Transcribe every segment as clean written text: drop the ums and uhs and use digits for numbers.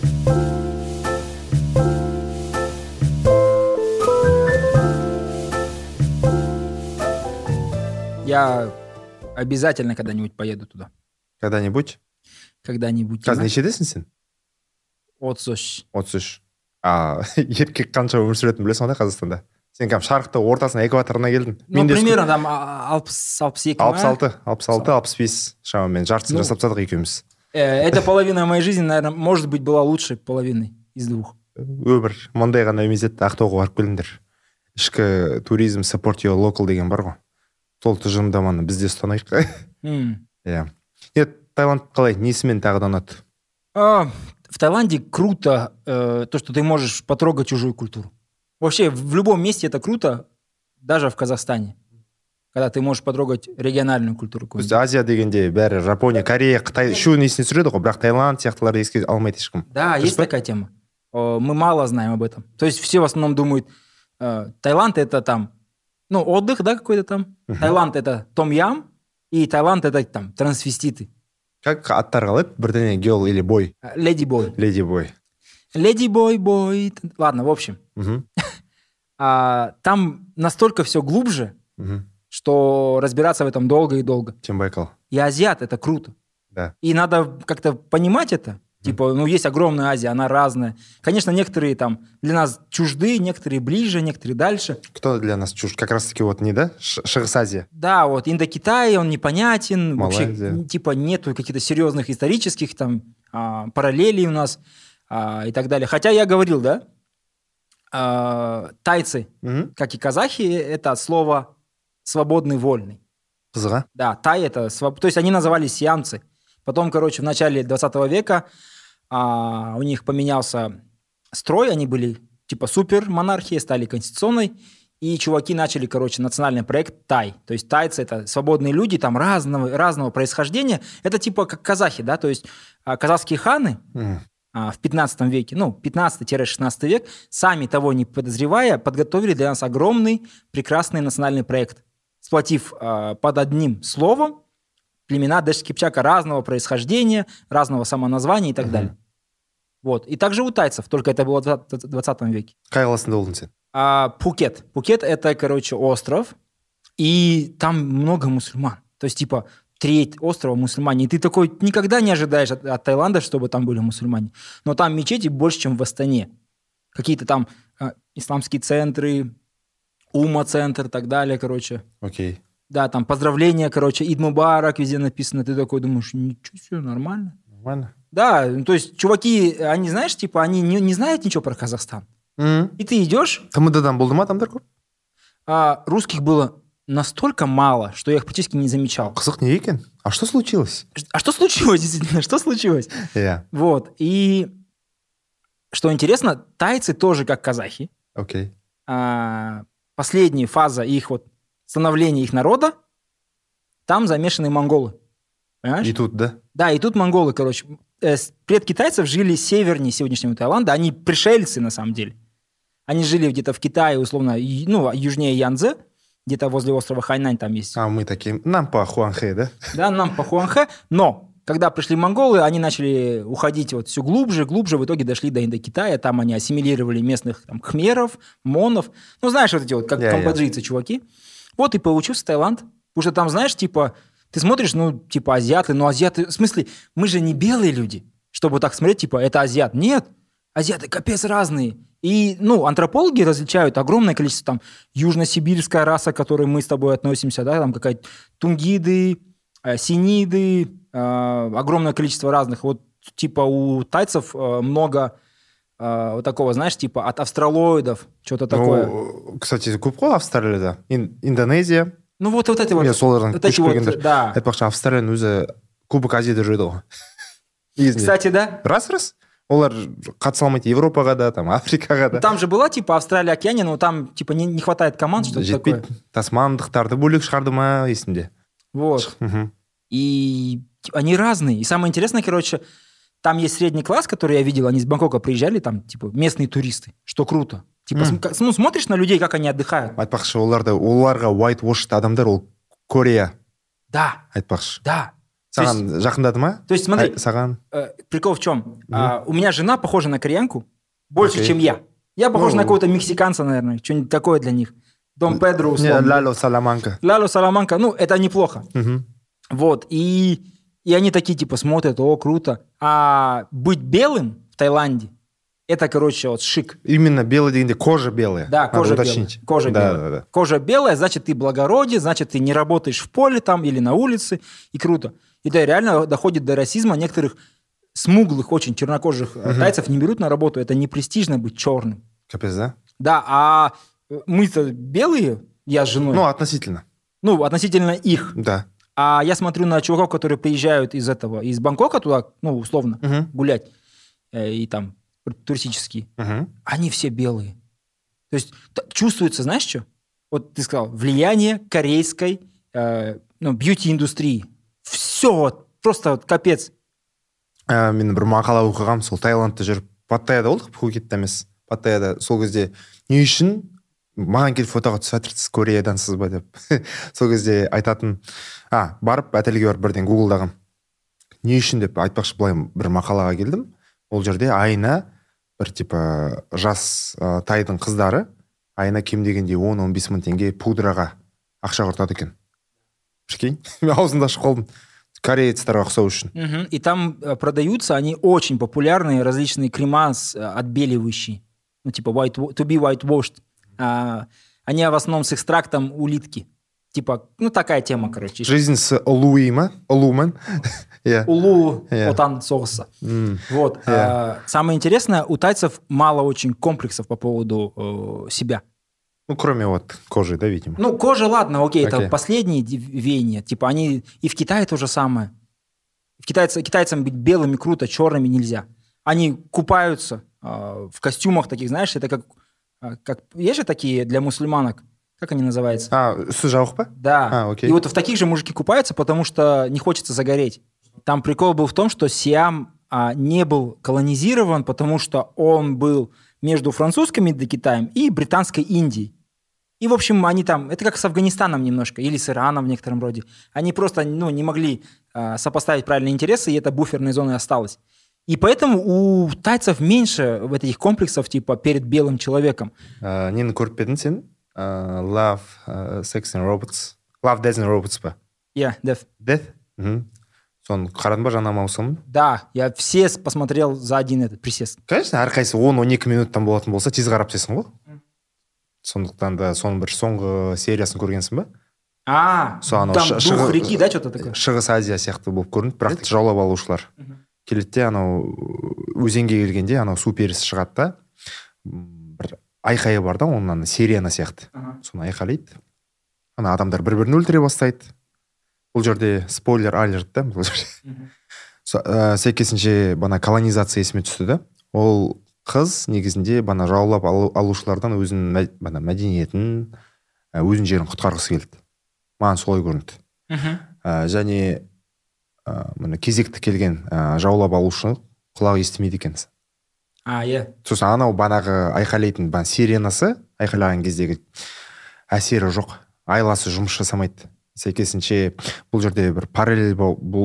Я обязательно когда-нибудь поеду туда. Когда-нибудь? Когда-нибудь. Қазір нешедесің сен? 33. 33. Еркек қанша өмір сүретінін білесің ғой Қазақстанда? Сен кәдімгі шарықтың ортасына, экваторына келдің. Ну, примерно там 60-62. 66-65 шамамен жартысын жасап тастадық екеуміз. Эта половина моей жизни, наверное, может быть, была лучшей половиной из двух. Өмір мындай ғана емес еді, Ақтауға барып келіңдер. Ішкі туризм support your local деген бар ғой. Сол тұжырымдаманы бізде ұстанайық. Иә. Таиланд қалай? Несімен тағы да ұнады? В Таиланде круто то, что ты можешь потрогать чужую культуру. Вообще, в любом месте это круто, даже в Казахстане, когда ты можешь потрогать региональную культуру. Біз Азия дегенде бәрі Жапония, Корея, Қытай, шу несіне түсіреді ғой, бірақ Таиланд сияқтыларды еске алмайды ешкім. Да, есть такая тема. Мы мало знаем об этом. То есть все в основном думают, Таиланд это там, отдых, да, какой-то там. Таиланд это том-ям, и Таиланд это там трансвеститы. Как аттар қалайды? Бірдеңе girl или boy? Леди-бой. Леди-бой. Леди-бой. Ладно, в общем. Там настолько все глубже, что разбираться в этом долго и долго. Чем Байкал. И азиат это круто. Да. И надо как-то понимать это. Типа, есть огромная Азия, она разная. Конечно, некоторые там для нас чужды, некоторые ближе, некоторые дальше. Кто для нас чужд? Как раз-таки Шығыс Азия. Да, Индокитай, он непонятен. Малайзия. Вообще, типа, нету каких-то серьезных исторических там параллелей у нас и так далее. Хотя я говорил, да, тайцы, как и казахи, это от слова «свободный, вольный». Қызға? Да, тай это... То есть они назывались сиамцы. Потом, в начале 20 века у них поменялся строй, они были типа супер-монархией, стали конституционной, и чуваки начали, национальный проект тай. То есть тайцы – это свободные люди, там разного происхождения. Это типа как казахи, да, то есть казахские ханы в 15 веке, 15-16 век, сами того не подозревая, подготовили для нас огромный, прекрасный национальный проект, сплотив под одним словом племена Дэш-Кипчака разного происхождения, разного самоназвания и так далее. И также у тайцев, только это было в 20 веке. Қай қаласында болдың сен? Пхукет. Пхукет – это, остров, и там много мусульман. То есть, типа, треть острова мусульмане. И ты такой никогда не ожидаешь от Таиланда, чтобы там были мусульмане. Но там мечети больше, чем в Астане. Какие-то там исламские центры, Ума-центр и так далее, Окей. Да, там поздравления, Ид Мубарак везде написано. Ты такой думаешь, ничего себе, нормально. Нормально. Да, то есть чуваки, они, знаешь, типа, они не знают ничего про Казахстан. И ты идешь... Там болды ма адамдар көп? Русских было настолько мало, что я их практически не замечал. Қызық не екен? А что случилось? А что случилось, действительно? Что случилось? Yeah. И что интересно, тайцы тоже как казахи. Окей. Последняя фаза их становления их народа, там замешаны монголы. Понимаешь? И тут, да? Да, и тут монголы, предки тайцев жили севернее сегодняшнего Таиланда. Они пришельцы, на самом деле. Они жили где-то в Китае, условно, южнее Янцзе, где-то возле острова Хайнань там есть. А мы такие, нам по Хуанхэ, да? Да, нам по Хуанхэ. Но когда пришли монголы, они начали уходить все глубже, в итоге дошли до Индокитая. Там они ассимилировали местных хмеров, монов. Знаешь, как камбоджийцы, чуваки. И получился Таиланд. Потому что там, знаешь, типа, ты смотришь, азиаты, азиаты... В смысле, мы же не белые люди, чтобы так смотреть, типа, это азиат. Нет, азиаты капец разные. И, антропологи различают огромное количество, там, южносибирская раса, к которой мы с тобой относимся, да, там какая-то тунгиды, синиды, огромное количество разных. Типа, у тайцев много... такого, знаешь, типа от австралоидов, что-то такое. Кстати, көп қой Австралияда. Индонезия. Эти Мен солардан көшіп келгендер. Да. Айтпақшы, Австралияның өзі Кубок Азияда жүреді ғой. Кстати, да. Раз. Олар қатыса алмайды Европаға да, там, Африкаға да. Там же была, типа, Австралия, Океания, но там, типа, не хватает команд, что-то такое. Жетпейді. Тасмандықтарды бөлек шығарды ма, есімде. И они разные. И самое интересное, там есть средний класс, который я видел, они из Бангкока приезжали, там, типа, местные туристы, что круто. Типа, смотришь на людей, как они отдыхают. Айтпақшы, оларға white washed адамдар, ол Корея. Да. Айтпақшы. Да. Саған жақындады ма? То есть, смотри, саған... прикол в чем? У меня жена похожа на кореянку больше, чем я. Я похож на какого-то мексиканца, наверное, что-нибудь такое для них. Дон Педро, условно. Лало Саламанка. Лало Саламанка, это неплохо. Вот, и они такие, типа, смотрят, о, круто. А быть белым в Таиланде, это, короче, вот шик. Именно белый дегенде кожа белая. Да, кожа белая. Кожа белая. Да. Кожа белая, значит, ты благороден, значит, ты не работаешь в поле там или на улице, и круто. И да, реально доходит до расизма. Некоторых смуглых, очень чернокожих тайцев не берут на работу. Это не престижно быть черным. Капец, да? Да, а мы-то белые, я с женой. Относительно. Относительно их. Да. А я смотрю на чуваков, которые приезжают из Бангкока туда, условно, гулять, и там туристические. Они все белые. То есть чувствуется, знаешь что? Вот ты сказал, влияние корейской бьюти-индустрии. Все, просто капец. Мен бір мақала оқығам, сол Таиландта жүріп, Паттайяда болдық, Пхукетте емес. Паттайяда сол кезде не үшін маған келіп фотоға түсіп жатырсыз, Кореядансыз ба деп. Сол кезде айтатын, барып, отельге барып бірден гуглдағам. Не үшін деп айтпақшы, былай бір мақалаға келдім. Ол жерде айына бір типа жас тайдың қыздары айына кем дегенде 10-15 мың теңге пудраға ақша құртады екен. Прикинь, мен аузымда ашып қалдым. Корейцтарға ұқсау үшін. И там продаются, они очень популярные, различные крема отбеливающие. Типа to be whitewashed. Они в основном с экстрактом улитки. Типа, такая тема, короче. Жизнь с улуима, улумен. Улу отан соуса. Вот. Самое интересное, у тайцев мало очень комплексов по поводу себя. Кроме кожи, да, видимо. Кожа, ладно, окей, это последние веяния. Типа они... И в Китае то же самое. Китайцам быть белыми круто, черными нельзя. Они купаются в костюмах таких, знаешь, это как... Есть же такие для мусульманок? Как они называются? Сужаухпа? Да. Окей. И вот в таких же мужики купаются, потому что не хочется загореть. Там прикол был в том, что Сиам не был колонизирован, потому что он был между французским Индокитаем и британской Индией. И, в общем, они там... Это как с Афганистаном немножко, или с Ираном в некотором роде. Они просто не могли сопоставить правильные интересы, и эта буферной зоной осталась. И поэтому у тайцев меньше вот этих комплексов, типа, перед белым человеком. Нені көріп бедің сен? Love, Sex and Robots. Love, Death and Robots па? Yeah, Death. Death? Соны қарадың ба жаңа маусымын? Да, я все посмотрел за один этот присест. Конечно, әрқайсы 10-12 минуттан болатын болса, тез қарап тесің ғой. Сондықтан да соның бір соңғы сериясын көргенсің ба? Там дух реки, да, что-то такое? Шығыс Азия сияқты болып көрінді, бірақ жаулап алушылар. Келеді де, өзенге келгенде, су перісі шығады да, бір айқайы бар да, оның серияна сияқты. Соны айқайлайды. Адамдар бір-бірін өлтіре бастайды. Бұл жерде спойлер алерт да, бұл жерде. Сәйкесінше колонизация есіме түсті да. Ол қыз негізінде жаулап алушылардан өзінің мәдениетін, өзінің жерін құтқарғысы келді. Маған солай көрінді. Және кезекті келген жаулап алушы құлағы естімейді екен. Сосын айқайлайтын сиренасы айқайлаған кездегі әсері жоқ. Айласы жұмыс жасамайды. Сәйкесінше бұл жерде бір параллель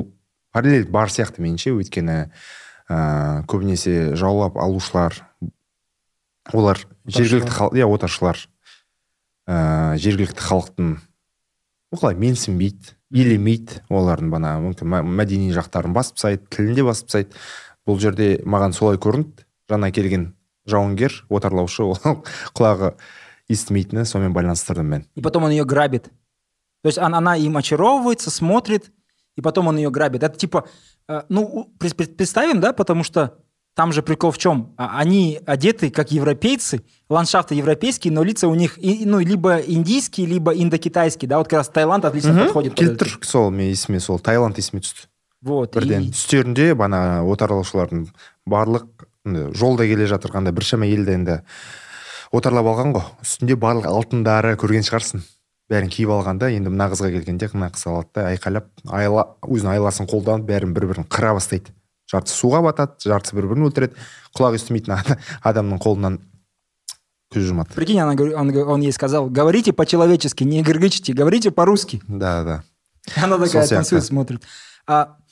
бар сияқты меніңше, өйткені көбінесе жаулап алушылар, олар жергілікті отаршылар, жергілікті халықтың менсінбейді, елемейді, олардың мәдени жақтарын басып тастайды, тілінде басып тастайды. Бұл жерде маған солай көрінді. Жаңа келген жауынгер, отарлаушы, ол құлағы естімейтіні, сонымен байланыстырдым мен. И потом он ее грабит. То есть она им очаровывается, смотрит, и потом он ее грабит. Это типа, представим, да, потому что там же прикол в чем? Они одеты как европейцы, ландшафты европейские, но лица у них либо индийские, либо индокитайские, да, вот как раз Таиланд отлично подходит. Келтір сол, мен есіме сол, Таиланд есіме түсті. Вот. Бірден үстерінде отарлаушылардың барлық жолда келе жатырғанда біршама елді енді отарлап алған ғой. Үстінде барлық алтындары көрген шығарсың. Бәрін киіп алғанда, енді мына қызға келгенде мына қыз алады да, айқайлап, өзінің айласын қолданып, бәрін бір-бірін қыра бастайды. Жартысы суға батады, жартысы бір-бірін өлтіреді. Құлақ естімейтін адамның қолынан көз жұмады. Прикинь, он ей сказал: говорите по-человечески, не гыргычите, говорите по-русски. Да. Она такая танцует, смотрит.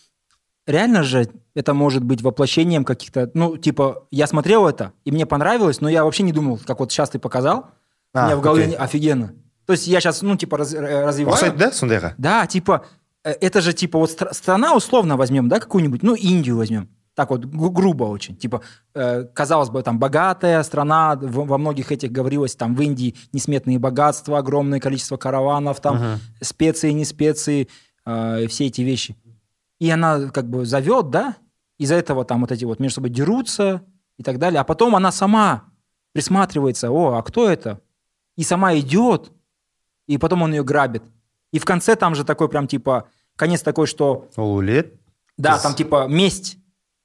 реально же это может быть воплощением каких-то... Ну, типа, я смотрел это, и мне понравилось, но я вообще не думал, как вот сейчас ты показал. У меня в голове офигенно. То есть я сейчас, ну, типа, развиваю... Ұқсайды, да, сондайға? Да, типа, это же, типа, вот страна условно возьмем, да, какую-нибудь, ну, Индию возьмем. Так вот, грубо очень. Типа, казалось бы, там, богатая страна, во многих этих говорилось, там, в Индии несметные богатства, огромное количество караванов, там, специи, не специи, все эти вещи. И она, как бы, зовет, да, из-за этого там вот эти вот между собой дерутся и так далее. А потом она сама присматривается, а кто это? И сама идет, и потом он ее грабит. И в конце там же такой прям, типа, конец такой, что... Олулет? Да, там, типа, месть.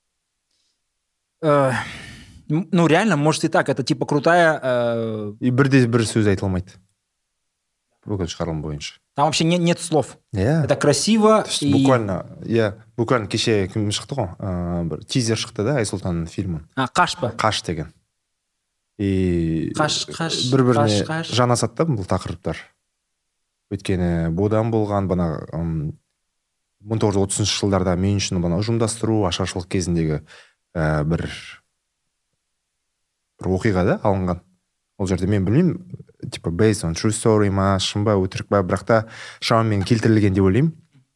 Ну, реально, может и так. Это, типа, крутая... И бірде бір сөз айтылмайды. Бүкіл шығарылым бойынша. Там вообще нет слов. Yeah. Это красиво. И... Буквально кеше кім шықты ғой? Бір тизер шықты да, Айсұлтанның фильмін. Қаш па? Қаш деген. И қаш бір-біріне жанасады бұл тақырыптар. Өйткені бодан болған, бана 1930 жылдарда мен үшін бана ұжымдастыру, ашаршылық кезіндегі бір оқиға да алынған. Ол жерде мен білмеймін, типа based on true story ма, шын ба, өтірік ба, бірақ та шамамен келтірілген деп ойлаймын.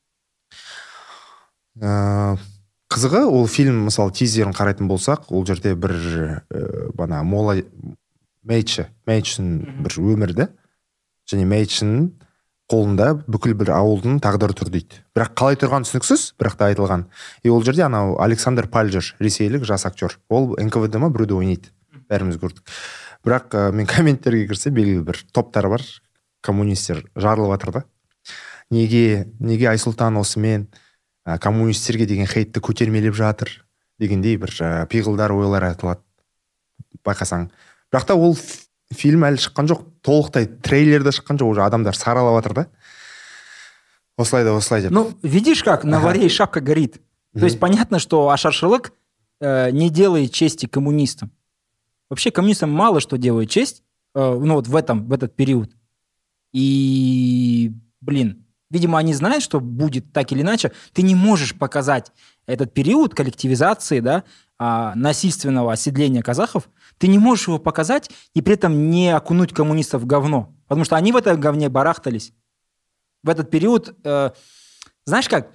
Қызығы, ол фильм, мысалы, тизерін қарайтын болсақ, ол жерде бір бана мола Мэйчің бір өмірді, және Мэйчің қолында бүкіл бір ауылдың тағдыры тұр дейді. Бірақ қалай тұрған түсініксіз, бірақ та айтылған. И ол жерде анау Александр Пальджер, ресейлік жас актер. Ол НКВД ма біреуде ойнайды. Бәріміз көрдік. Бірақ мен комменттерге кірсе, белгілі бір топтар бар, коммунистер жарылып жатыр да. Неге Айсұлтан осымен коммунистерге деген хейтті көтермелеп жатыр дегендей бір пиғылдар, ойлар айтылады. Байқасаң. Бірақ та ол фильм әлі шыққан жоқ, толықтай трейлерде шыққан жоқ, уже адамдар саралап жатыр да. Осылай деп. Ну, видишь, как на варе и шапка горит. То есть понятно, что ашаршылык не делает чести коммунистам. Вообще коммунистам мало что делает честь, ну вот в этот период. И, видимо, они знают, что будет так или иначе. Ты не можешь показать этот период коллективизации, да, насильственного оседления казахов, ты не можешь его показать и при этом не окунуть коммунистов в говно. Потому что они в этом говне барахтались. В этот период, знаешь как,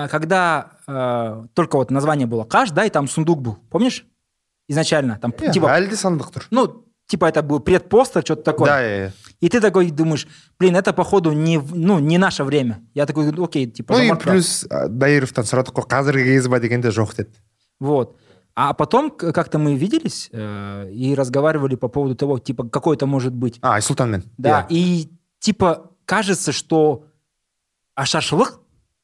когда только вот название было Каш, да, и там сундук был, помнишь? Изначально. Там, типа, ну, типа это был предпостер, что-то такое. Да, И ты такой думаешь, это походу не наше время. Я такой, окей, типа... Ну и плюс Даировтан сұрадық қой, қазіргі кез ба дегенде жоқ деді. Вот. А потом как-то мы виделись и разговаривали по поводу того, типа, какой это может быть. Айсултанмен. Да, и типа кажется, что ашаршылык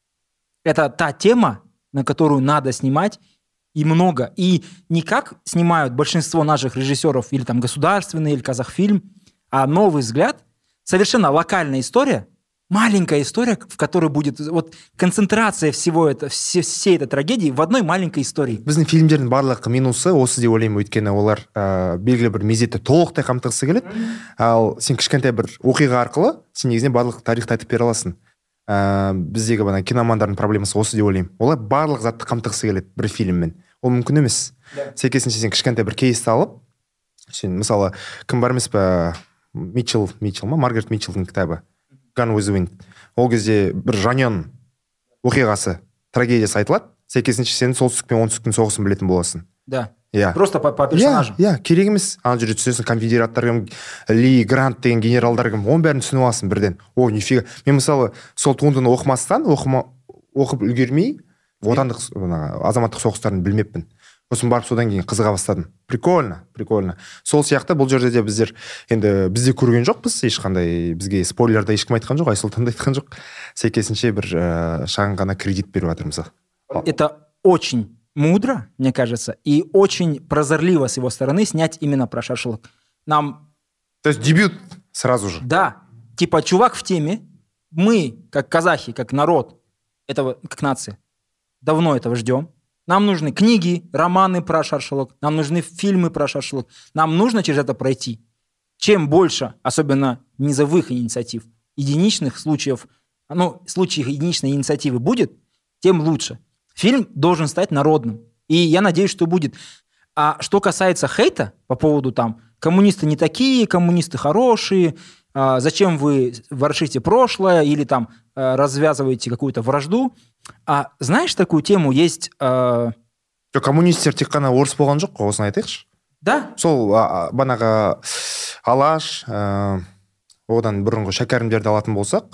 – это та тема, на которую надо снимать, и много. И не как снимают большинство наших режиссеров, или там государственный, или Казахфильм, а новый взгляд, совершенно локальная история, маленькая история, в которой будет вот концентрация всего всей этой трагедии в одной маленькой истории. Біздің фильмдердің барлық минусы осы деп ойлаймын, өйткені олар белгілі бір мезетті толықтай қамтығысы келеді. Ал сен кішкентай бір оқиға арқылы сен негізінен барлық тарихты айтып бере аласың. Біздегі бана киномандардың проблемасы осы деп ойлаймын. Олар барлық затты қамтығысы келеді бір фильммен. Ол мүмкін емес. Сәйкесінше сен кішкентай бір кейсті алып, сен мысалы кім бар емес па, Митчелл ма, Маргарет Митчеллдің кітабы Gone with the Wind. Ол кезде бір жаньон оқиғасы, трагедиясы айтылады. Сәйкесінше сен солтүстік пен оңтүстіктің соғысын білетін боласың. Да. Просто по персонажу. Керек емес. Ана жерде түсінесің, конфедераттар кім, Ли Грант деген генералдар кім, оның бәрін түсініп аласың бірден. Нифига. Мен мысалы сол туындыны оқымастан, оқып үлгермей, отандық азаматтық соғыстарын білмеппін. Сосын барып содан кейін қызыға бастадым. Прикольно. Сол сияқты бұл жерде де біздер енді бізде көрген жоқпыз, ешқандай бізге спойлерді ешкім айтқан жоқ, Айсұлтан да айтқан жоқ. Сәйкесінше бір шағын ғана кредит беріп жатырмыз. Это очень мудро, мне кажется, и очень прозорливо с его стороны снять именно про шашлык. То есть дебют сразу же. Да. Типа чувак в теме. Мы, как казахи, как народ, этого, как нация, давно этого ждем. Нам нужны книги, романы про шашлык, нам нужны фильмы про шашлык. Нам нужно через это пройти. Чем больше, особенно низовых инициатив, единичных случаев, случаев единичной инициативы будет, тем лучше. Фильм должен стать народным. И я надеюсь, что будет. А что касается хейта по поводу там коммунисты не такие, коммунисты хорошие, зачем вы ворошите прошлое или там развязываете какую-то вражду. Знаешь, такую тему есть... Коммунистер тек қана орыс болған жоқ қой, осыны айтайықшы. Да. Сол банағы Алаш, одан бұрынғы шәкәрімдерді алатын болсақ,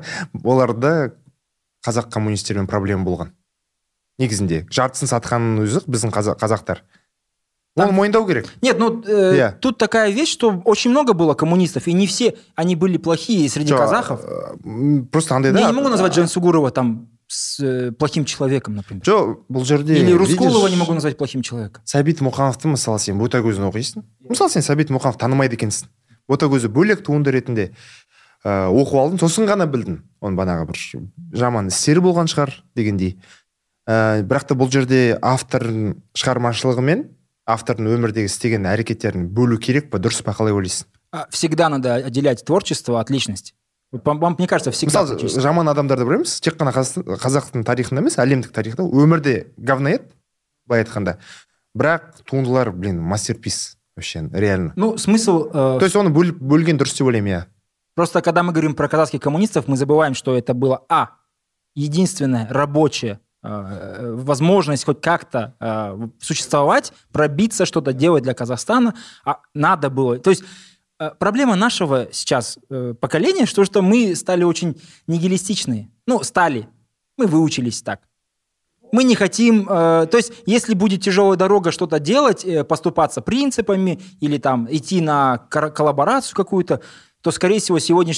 оларда қазақ коммунистермен проблема болған. Негізінде жартысын сатқанның өзі біздің қазақтар. Оны мойындау керек. Нет, тут такая вещь, что очень много было коммунистов, и не все они были плохие среди казахов. Просто андай да. Я не могу назвать Жансугурова там с плохим человеком, например. Бұл жерде... Или Рускулова не могу назвать плохим человеком. Сәбит Мұқановты, мысалы, сен Ботагөзін оқисың. Мысалы, сен Сәбит Мұқанов танымайды екенсің. Ботагөзі бөлек туынды ретінде оқып алдың, сосын ғана білдің. Оның банағы бір жаман істері болған шығар дегендей. Бірақ та бұл жерде автордың шығармашылығы мен автордың өмірдегі істеген әрекеттерін бөлу керек па, дұрыс па, қалай ойлайсың? Всегда надо отделять творчество от личности. Мне кажется, всегда. Мысалы, жаман адамдарды білеміз, тек қана қазақтың тарихында емес, әлемдік тарихта өмірде говноед, былай айтқанда. Бірақ туындылар, мастерпис вообще, реально. Смысл... То есть оны бөлген дұрыс деп ойлаймын, я. Просто когда мы говорим про казахских коммунистов, мы забываем, что это было единственное рабочее возможность хоть как-то существовать, пробиться, что-то делать для Казахстана. Надо было... То есть проблема нашего сейчас поколения, что мы стали очень нигилистичные. Стали. Мы выучились так. Мы не хотим... То есть если будет тяжелая дорога что-то делать, поступаться принципами или там идти на коллаборацию какую-то, то, скорее всего,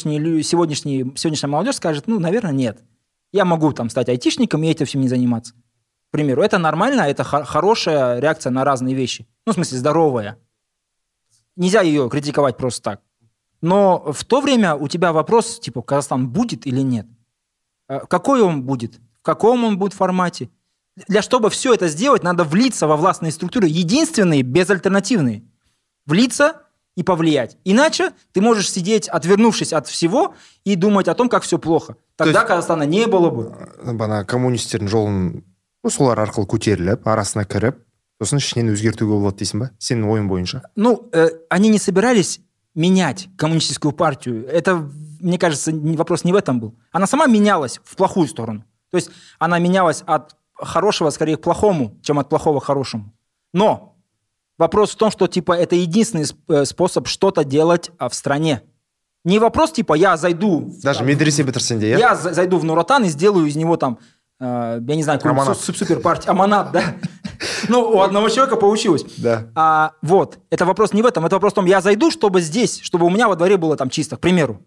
сегодняшняя молодежь скажет, наверное, нет. Я могу там стать айтишником и этим всем не заниматься. К примеру, это нормально, это хорошая реакция на разные вещи. В смысле, здоровая. Нельзя ее критиковать просто так. Но в то время у тебя вопрос, типа, Казахстан будет или нет? Какой он будет? В каком он будет формате? Чтобы все это сделать, надо влиться во властные структуры, единственные, безальтернативные. Влиться и повлиять. Иначе ты можешь сидеть, отвернувшись от всего, и думать о том, как все плохо. Тогда Казахстана не было бы. Коммунистердің жолын солар арқылы көтеріліп, арасына кіріп, сосын ішінен өзгертуге болады дейсің ба? Сенің ойың бойынша? Они не собирались менять коммунистическую партию. Это, мне кажется, вопрос не в этом был. Она сама менялась в плохую сторону. То есть она менялась от хорошего, скорее, к плохому, чем от плохого к хорошему. Но вопрос в том, что, это единственный способ что-то делать в стране. Не вопрос, я зайду... Даже медресе бітірсен де, я зайду в Нур Отан и сделаю из него там, я не знаю, суперпартию. Аманат, да. У одного человека получилось. Да. Это вопрос не в этом. Это вопрос в том, я зайду, чтобы здесь, чтобы у меня во дворе было там чисто, к примеру.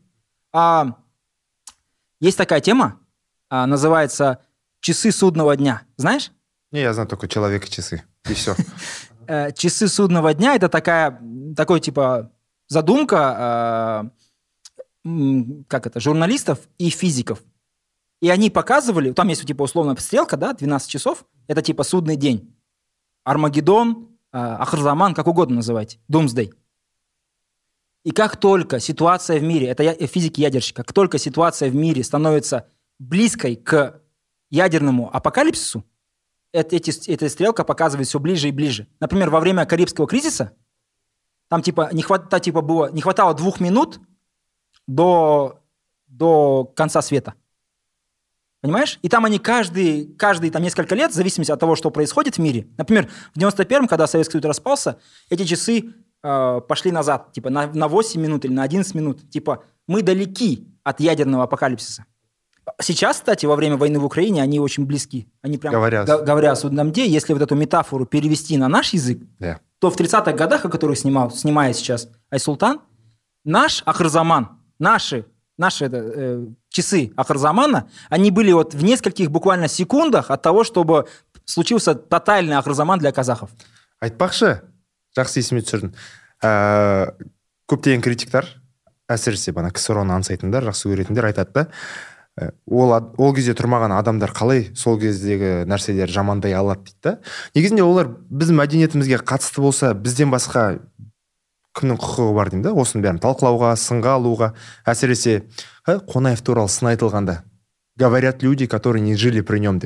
Есть такая тема, называется «Часы судного дня». Знаешь? Не, я знаю только «Человек и часы». И все. «Часы судного дня» — это такой задумка журналистов и физиков. И они показывали, там есть условно стрелка, 12 часов, это судный день. Армагеддон, Ахрзаман, как угодно называйте, Doomsday. И как только ситуация в мире, это физики-ядерщики, как только ситуация в мире становится близкой к ядерному апокалипсису, эта стрелка показывает все ближе и ближе. Например, во время Карибского кризиса там не хватало 2 минут до конца света. Понимаешь? И там они каждые там несколько лет, в зависимости от того, что происходит в мире. Например, в 91-м, когда Советский Союз распался, эти часы пошли назад, на 8 минут или на 11 минут. Мы далеки от ядерного апокалипсиса. Сейчас, кстати, во время войны в Украине они очень близки. Они прям говорят о судном дне. Если эту метафору перевести на наш язык, то в 30-х годах, о которых снимает сейчас Айсултан, наш Ахрзаман, наши часы Ахрзамана, они были в нескольких буквально секундах от того, чтобы случился тотальный Ахрзаман для казахов. Айтпақшы, жақсы есіме түсірдің. Көптеген критиктар, әсіресе КСРО-ны аңсайтындар, жақсы көретіндер айтады да, ол кезде тұрмаған адамдар қалай сол кездегі нәрселер жамандай алады дейді да. Негізінде олар біздің мәдениетімізге қатысты болса, бізден басқа кімнің құқығы бар деймін да, осының бәрін талқылауға, сынға алуға. Әсіресе Қонаев туралы сын айтылғанда, говорят люди, которые не жили при нем деп.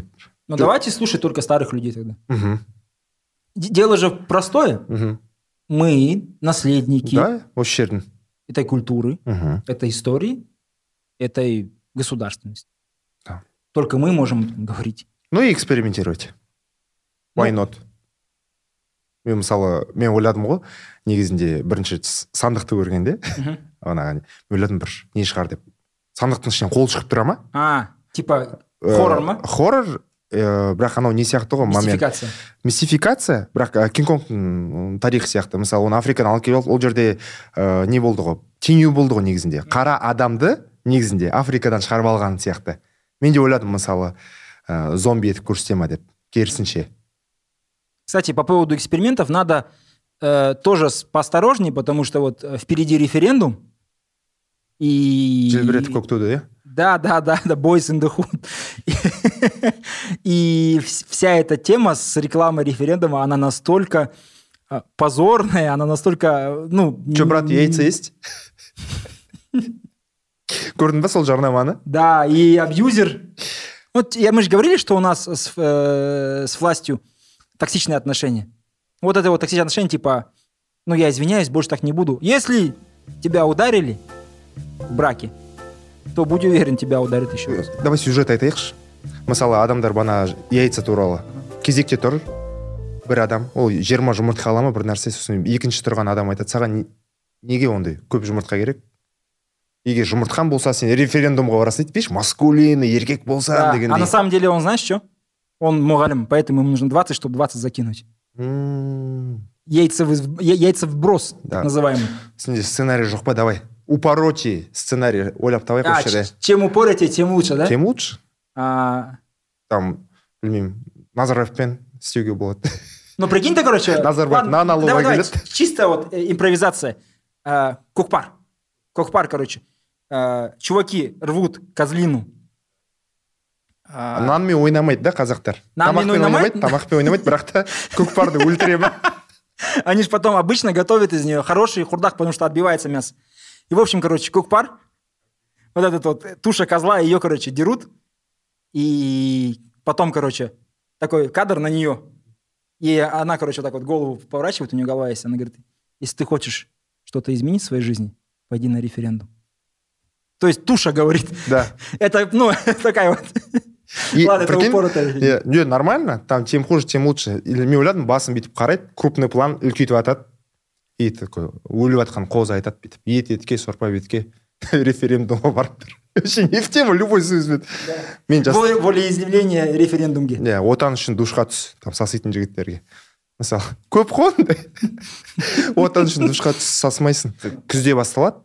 Ну, давайте слушать только старых людей тогда. Угу. Дело же простое. Угу. Мы наследники этой культуры, этой истории, этой государственности. Да. Только мы можем говорить. Ну и экспериментировать. Why not? Мен мысалы, мен ойладым ғой, негізінде бірінші сандықты көргенде, мен ойладым бір не шығар деп. Сандықтың ішінен қол шығып тұра ма? Типа хоррор ма? Хоррор, бірақ анау не сияқты ғой? Мистификация. Мистификация, бірақ Кинг-Конгтың тарихы сияқты. Мысалы, оны Африкадан алып келіп, ол жерде не болды ғой? Теңеу болды ғой негізінде. Қара адамды негізінде Африкадан шығарып алған сияқты. Мен де ойладым, мысалы, зомби етіп көрсете ма деп, керісінше. Кстати, по поводу экспериментов надо тоже поосторожнее, потому что вот впереди референдум. И... Желбіретіп көктуді, да? Да, Boys in the Hood. И вся эта тема с рекламой референдума, она настолько позорная, она настолько, Че, брат, яйца есть? Көрдің ба сол жарнаманы? Да, и абьюзер. Вот мы же говорили, что у нас с властью токсичные отношения. Вот это вот токсичные отношения, типа, я извиняюсь, больше так не буду. Если тебя ударили в браке, то будь уверен, тебя ударят еще раз. Давай сюжет айтайықшы. Мысалы, адамдар бана яйца туралы. Кезекте тұр бір адам, ол 20 жұмыртқа ала ма бір нәрсе, сосын екінші тұрған адам айтады, саған неге ондай көп жұмыртқа керек? Егер жұмыртқан болса, сен референдумға барасың дейді, маскулинный, еркек болса дегендей. А на самом деле он, знаешь что? Он мұғалім, поэтому ему нужно 20, чтобы 20 закинуть. Яйца вброс, так называемый. Сенде сценарий жоқ па, давай. Упороти сценарий ойлап табайық осы жерде. Чем упорите, тем лучше, да? Тем лучше. Там, білмеймін, Назарбаевпен істеуге болады. Ну, прикинь ты, короче... Назарбаев на налогға келеді. Чисто вот импровизация. Көкпар, короче. Чуваки рвут козлину. Нанмен ойнамайды, да, қазақтар? Нанмен ойнамайды? Тамақпен ойнамайды, бірақ та көкпарды өлтіремі. Они же потом обычно готовят из нее хороший хурдак, потому что отбивается мясо. И, в общем, короче, көкпар, вот этот вот туша козла, ее, короче, дерут. И потом, короче, такой кадр на нее. И она, короче, вот так вот голову поворачивает, у нее голова есть. Она говорит, если ты хочешь что-то изменить в своей жизни, пойди на референдум. То есть туша говорит. Да. Это, такая вот... Ладно, это упоротая. Не, нормально. Там тем хуже, тем лучше. Или мен ойладым, басын бүйтіп қарайды, крупный план үлкейтіп атады. И такой, өліп атқан қозы айтады бүйтіп. Етке, сорпа бетке, референдумға барып тұр. Вообще не в тему, любой сөзбен. Волеизъявление референдумге. Отан үшін душқа түс, там саситын жігіттерге. Мысалы, көп қой. Отан үшін душқа түс, сасмайсың. Күзде басталады.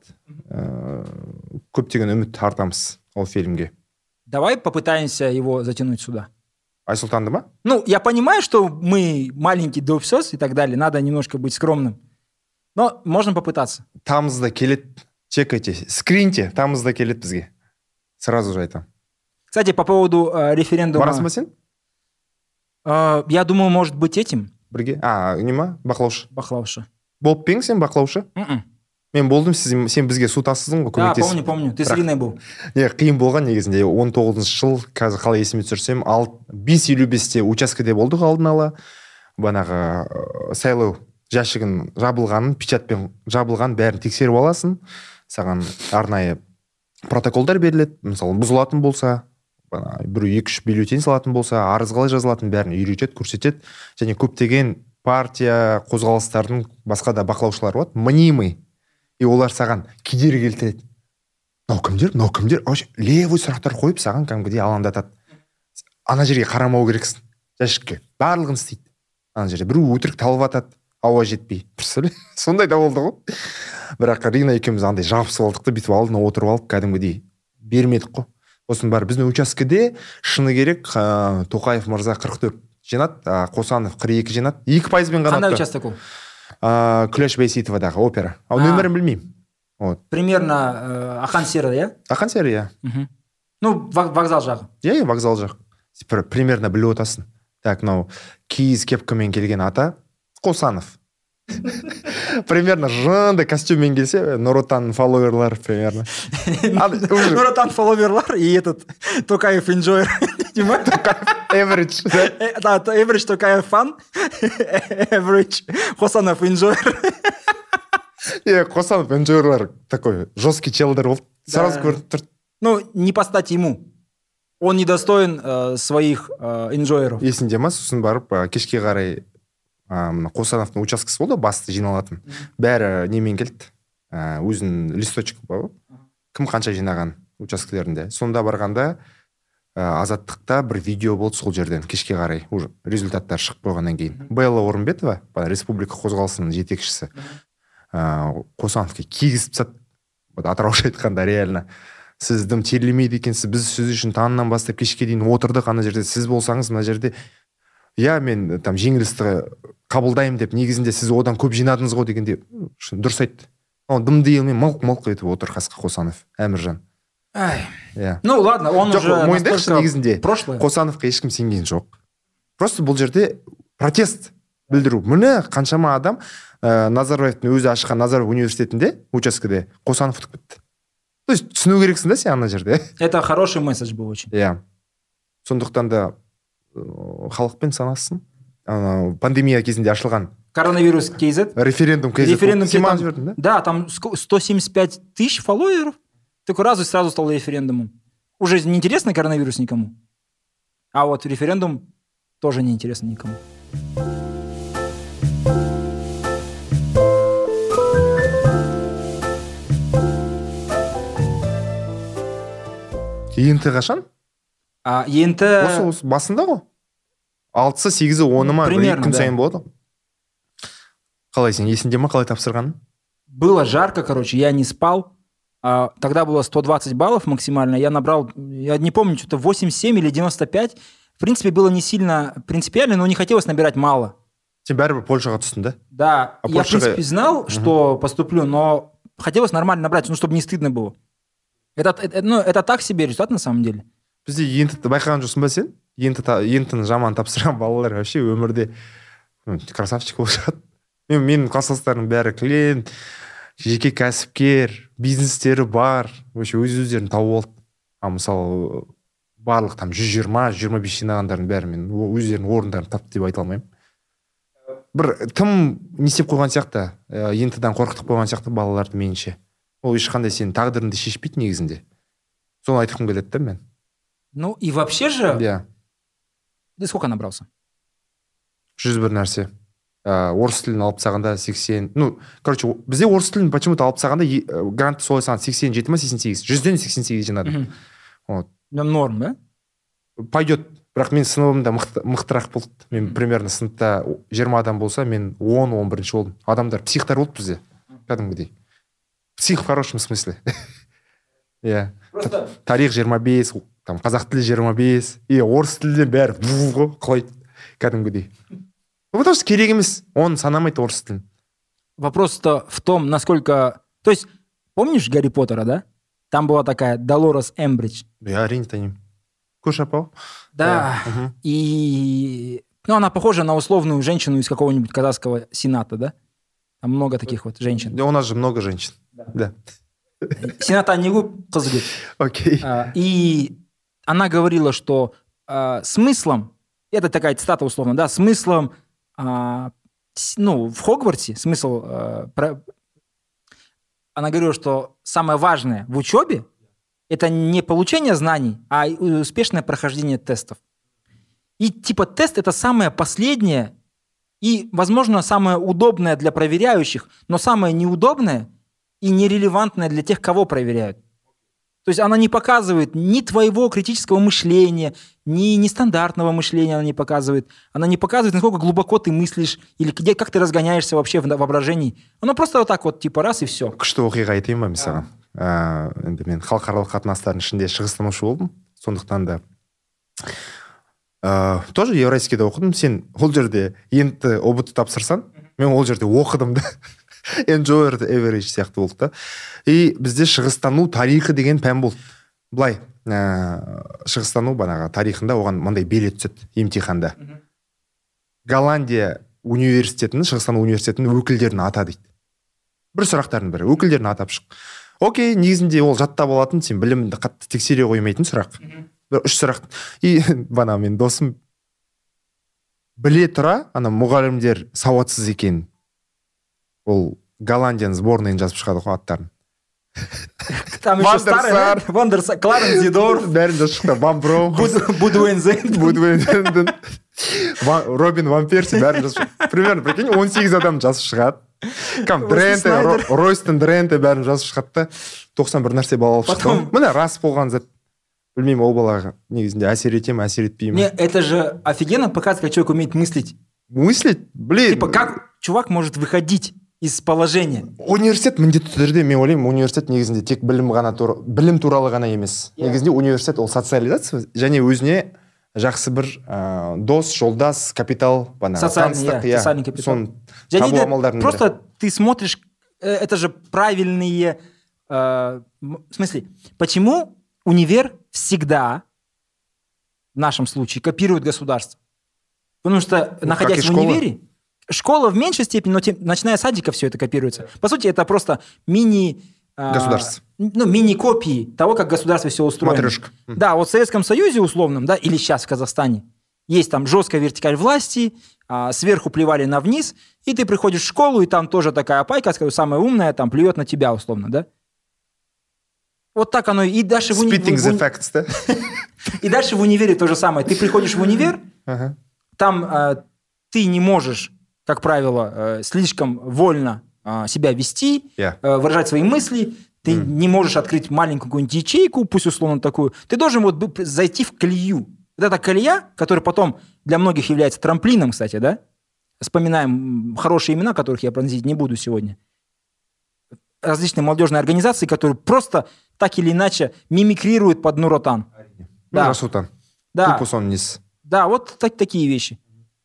Көптеген үміт артамыз ол фильмге. Давай попытаемся его затянуть сюда. Айсултанды ма? Я понимаю, что мы маленький допсос и так далее, надо немножко быть скромным. Но можно попытаться. Тамызда келет, чекайте, скриньте, тамызда келет бізге. Сразу же айтам. Кстати, по поводу референдума... Барасың ба сен? Я думаю, может быть этим. Бірге? Не ма? Бақылаушы. Бақылаушы. Болып пең сен бақылаушы? Мен болдым, сен бізге су тасыдың ғой, көмектесіп. Да, помню. Ты с Ириной был. Қиын болған негізінде. 19 жыл, қазір қалай есіме түсірсем, 5.55-те учаскеде болдық алдын ала. Банағы сайлау жәшігін жабылғанын, печатпен жабылған бәрін тексеріп аласың. Саған арнайы протоколдар беріледі. Мысалы, бұзылатын болса, бір 2-3 бюллетень салатын болса, арыз қалай жазылатын бәрін үйретеді, көрсетеді. Және көптеген партия, қозғалыстардың басқа да бақылаушылар болады. Мнимый. И олар саған кедергі келтіреді. Мынау кімдер? Левый сұрақтар қойып, саған кәдімгідей алаңдатады. Ана жерге қарамау керексің. Жәшікке. Барлығын істейді. Ана жерде біреу өтірік талып атады, ауа жетпей. Сондай да болды ғой. Бірақ Рина екеуміз андай жабысып алдық та, бүйтіп алдына отырып алып, кәдімгідей бермедік қой. Осының бәрі біздің учаскеде шыны керек, Тоқаев мырза 44 жинады, Қосанов 42 жинады. 2%-бен ғана. Қандай участок ол? Күләш Байсейітовадағы опера. Нөмірін білмеймін. Примерно Ақан Сері, иә? Ақан Сері, иә. Вокзал жағы. Иә, вокзал жақ. Примерно біліп отасың. Так, киіз кепкамен келген ата Қосанов. Примерно жынды костюммен келсе, Нұротан фолловерлар примерно. Нұротан фолловерлар и этот Токаев инжойер. Дима? Average. Да, average такая fun. Average. Қосанов enjoyer. Қосанов enjoyer такой жесткий челдер болды. Сразу көрініп тұр. Ну, не по стати ему. Он недостоин своих enjoyеров. Есінде ма, сосын барып кешке қарай Қосановтың учаскесі болды, басты жиналатын. Бәрі немен келді. Өзінің листочек бар. Кім қанша жинаған учаскелерінде. Сонда барғанда Азаттықта бір видео болды сол жерден кешке қарай. Уже результаттар шығып қойғаннан кейін. Белла Орынбетова, республика қозғалысының жетекшісі, Қосановқа кигізіп тастады. Атырауша айтқанда реально. Сіз дым терлемейді екенсіз, біз сіз үшін таңнан бастап кешке дейін отырдық ана жерде. Сіз болсаңыз мына жерде, мен там жеңілісті қабылдаймын деп, негізінде сіз одан көп жинадыңыз ғой дегенде дұрыс айтты. Дымды елмен мылқ етіп отыр қасқа Қосанов, Әміржан. Ну ладно, он уже мойындайықшы, негізінде прошлое. Қосановқа ешкім сенген жоқ. Просто бұл жерде протест білдіру. Міне қаншама адам Назарбаевтың өзі ашқан Назарбаев университетінде, учаскеде Қосанов ұтып кетті. То есть түсіну керексің да сен ана жерде. Это хороший месседж был очень. Сондықтан да халықпен санасын. Пандемия кезінде ашылған коронавирус KZ. Референдум KZ. Да, там 175 тысяч фолловеров. Такой раз и сразу стал референдумом. Уже не интересно коронавирус никому. А вот референдум тоже не интересно никому. Енті қашан? Енті... Осы басында ғой? 6-сы, 8-сы, 10-ы ма? Примерно, күн сайын болады. Қалай сен, есінде ма, қалай тапсырғаның? Было жарко, короче, я не спал. Тогда было 120 баллов максимально. Я набрал, я не помню, что-то 87 или 95. В принципе, было не сильно принципиально, но не хотелось набирать мало. Сен бәрібір Польшаға түстің, да? Да, я, в принципе, знал, что поступлю, но хотелось нормально набрать, ну, чтобы не стыдно было. Это так себе результат, на самом деле. Бізде ентіні байқаған жоқсың ба сен? Ентіні жаман тапсырған балалар вообще өмірде красавчик болып шығады. Менің класстастарым бәрі клиент, жеке кәсіпкер, бизнестері бар, өз-өздерін тауып алды. Мысалы, барлық там 120-125 жинағандардың бәрі мен өздерінің орындарын тапты деп айта алмаймын. Бір тым не істеп қойған сияқты, ентіден қорқытып қойған сияқты балаларды меніңше. Ол ешқандай сенің тағдырыңды шешпейді негізінде. Соны айтқым келеді да мен. Ну и вообще же... Да. Ты сколько набрался? 101 нәрсе. Орыс тілін алып тастағанда 80... Ну, короче, бізде орыс тілін почему-то алып тастағанда грантты солай саған 87 ма 88? 100-ден 88 жинадым. Норм, да? Пойдет. Бірақ мен сыныбымда мықтырақ болды. Мен примерно сыныпта 20 адам болса, мен 10-11 болдым. Адамдар психтар болды бізде. Кәдімгідей. Псих в хорошем смысле. Тарих 25, там қазақ тілі 25, орыс тілден бәрі құлайды кәдімгідей. Потому что керек емес, он санамайды орыс тілін. Вопрос-то в том, насколько... То есть, помнишь Гарри Поттера, да? Там была такая Долорес Эмбридж. Я әрине танимын. Көш апа? Да. И... Ну, она похожа на условную женщину из какого-нибудь казахского сената, да? Там много таких вот женщин. Да, у нас же много женщин. Да. Сената Анигу Казгит. Окей. И она говорила, что смыслом, это такая цитата условно, да, смыслом, в Хогвартсе, смысл, она говорила, что самое важное в учебе это не получение знаний, а успешное прохождение тестов. И типа тест это самое последнее и, возможно, самое удобное для проверяющих, но самое неудобное и нерелевантное для тех, кого проверяют. То есть она не показывает ни твоего критического мышления, ни нестандартного мышления она не показывает. Она не показывает, насколько глубоко ты мыслишь или где, как ты разгоняешься вообще в воображении. Оно просто вот так вот, типа раз и все. Күшті оқиға айтайын ба мысалы? Енді мен халықаралық қатынастардың ішінде шығыстанушы болдым. Сондықтан да тоже Евразийскийде оқыдым. Сен ол жерде енді ОБТ тапсырсан, мен ол жерде оқыдым да. Enjoyer average сияқты болды да. И бізде шығыстану тарихы деген пән болды. Былай, шығыстану банаға тарихында оған мындай бере түседі емтиханда. Голландия университетінің, шығыстану университетінің өкілдерін ата дейді. Бір сұрақтардың бірі, өкілдерін атап шық. Окей, негізінде ол жаттап алатын, сен білімді қатты тексере қоймайтын сұрақ. бір 3 сұрақ. И бана мен досым біле тұра, ана мұғалімдер сауатсыз екен. Ол Голландияның сборныйын жазып шығады ғой аттарын. Там еще старый, Вандерсар, Кларенс Зидорф. Бәрін жазып шықты. Ван Броухус. Будуэнзен. Робин Ван Перси бәрін жазып шықты. Примерно, прикинь, 18 адам жазып шығады. Дренте, Ройстон Дренте бәрін жазып шығады. 91 нәрсе бала алып шықты. Міне рас болған зат. Білмеймін, ол балаға негізінде әсер етем, әсер етпеймін. Не, это же офигенно показывает, как человек умеет мыслить. Мыслить? Блин. Типа, как чувак может выходить из положения? Университет міндетті түрде, мен ойлаймын, университет негізінде тек білім туралы ғана емес. Негізінде университет ол социализация, және өзіне жақсы бір дос, жолдас, капитал, социальный капитал. Просто ты смотришь, это же правильные... В смысле, почему универ всегда, в нашем случае, копирует государство? Потому что, находясь в универе, школа в меньшей степени, но начиная с садика все это копируется. По сути, это просто государство. Мини-копии того, как государство все устроено. Матрешка. Да, вот в Советском Союзе условном, да, или сейчас в Казахстане, есть там жесткая вертикаль власти, сверху плевали на вниз, и ты приходишь в школу, и там тоже такая опайка, скажу, самая умная, там плюет на тебя условно, да? Вот так оно и дальше в универе. Effects, да? И дальше в универе то же самое. Ты приходишь в универ, там ты не можешь, как правило, слишком вольно себя вести, выражать свои мысли. Ты не можешь открыть маленькую какую-нибудь ячейку, пусть условно такую. Ты должен вот зайти в колею. Вот эта колея, которая потом для многих является трамплином, кстати, да? Вспоминаем хорошие имена, которых я проносить не буду сегодня. Различные молодежные организации, которые просто так или иначе мимикрируют под Нур-Отан. Да. Нур-Отан. Да. Да, вот такие вещи.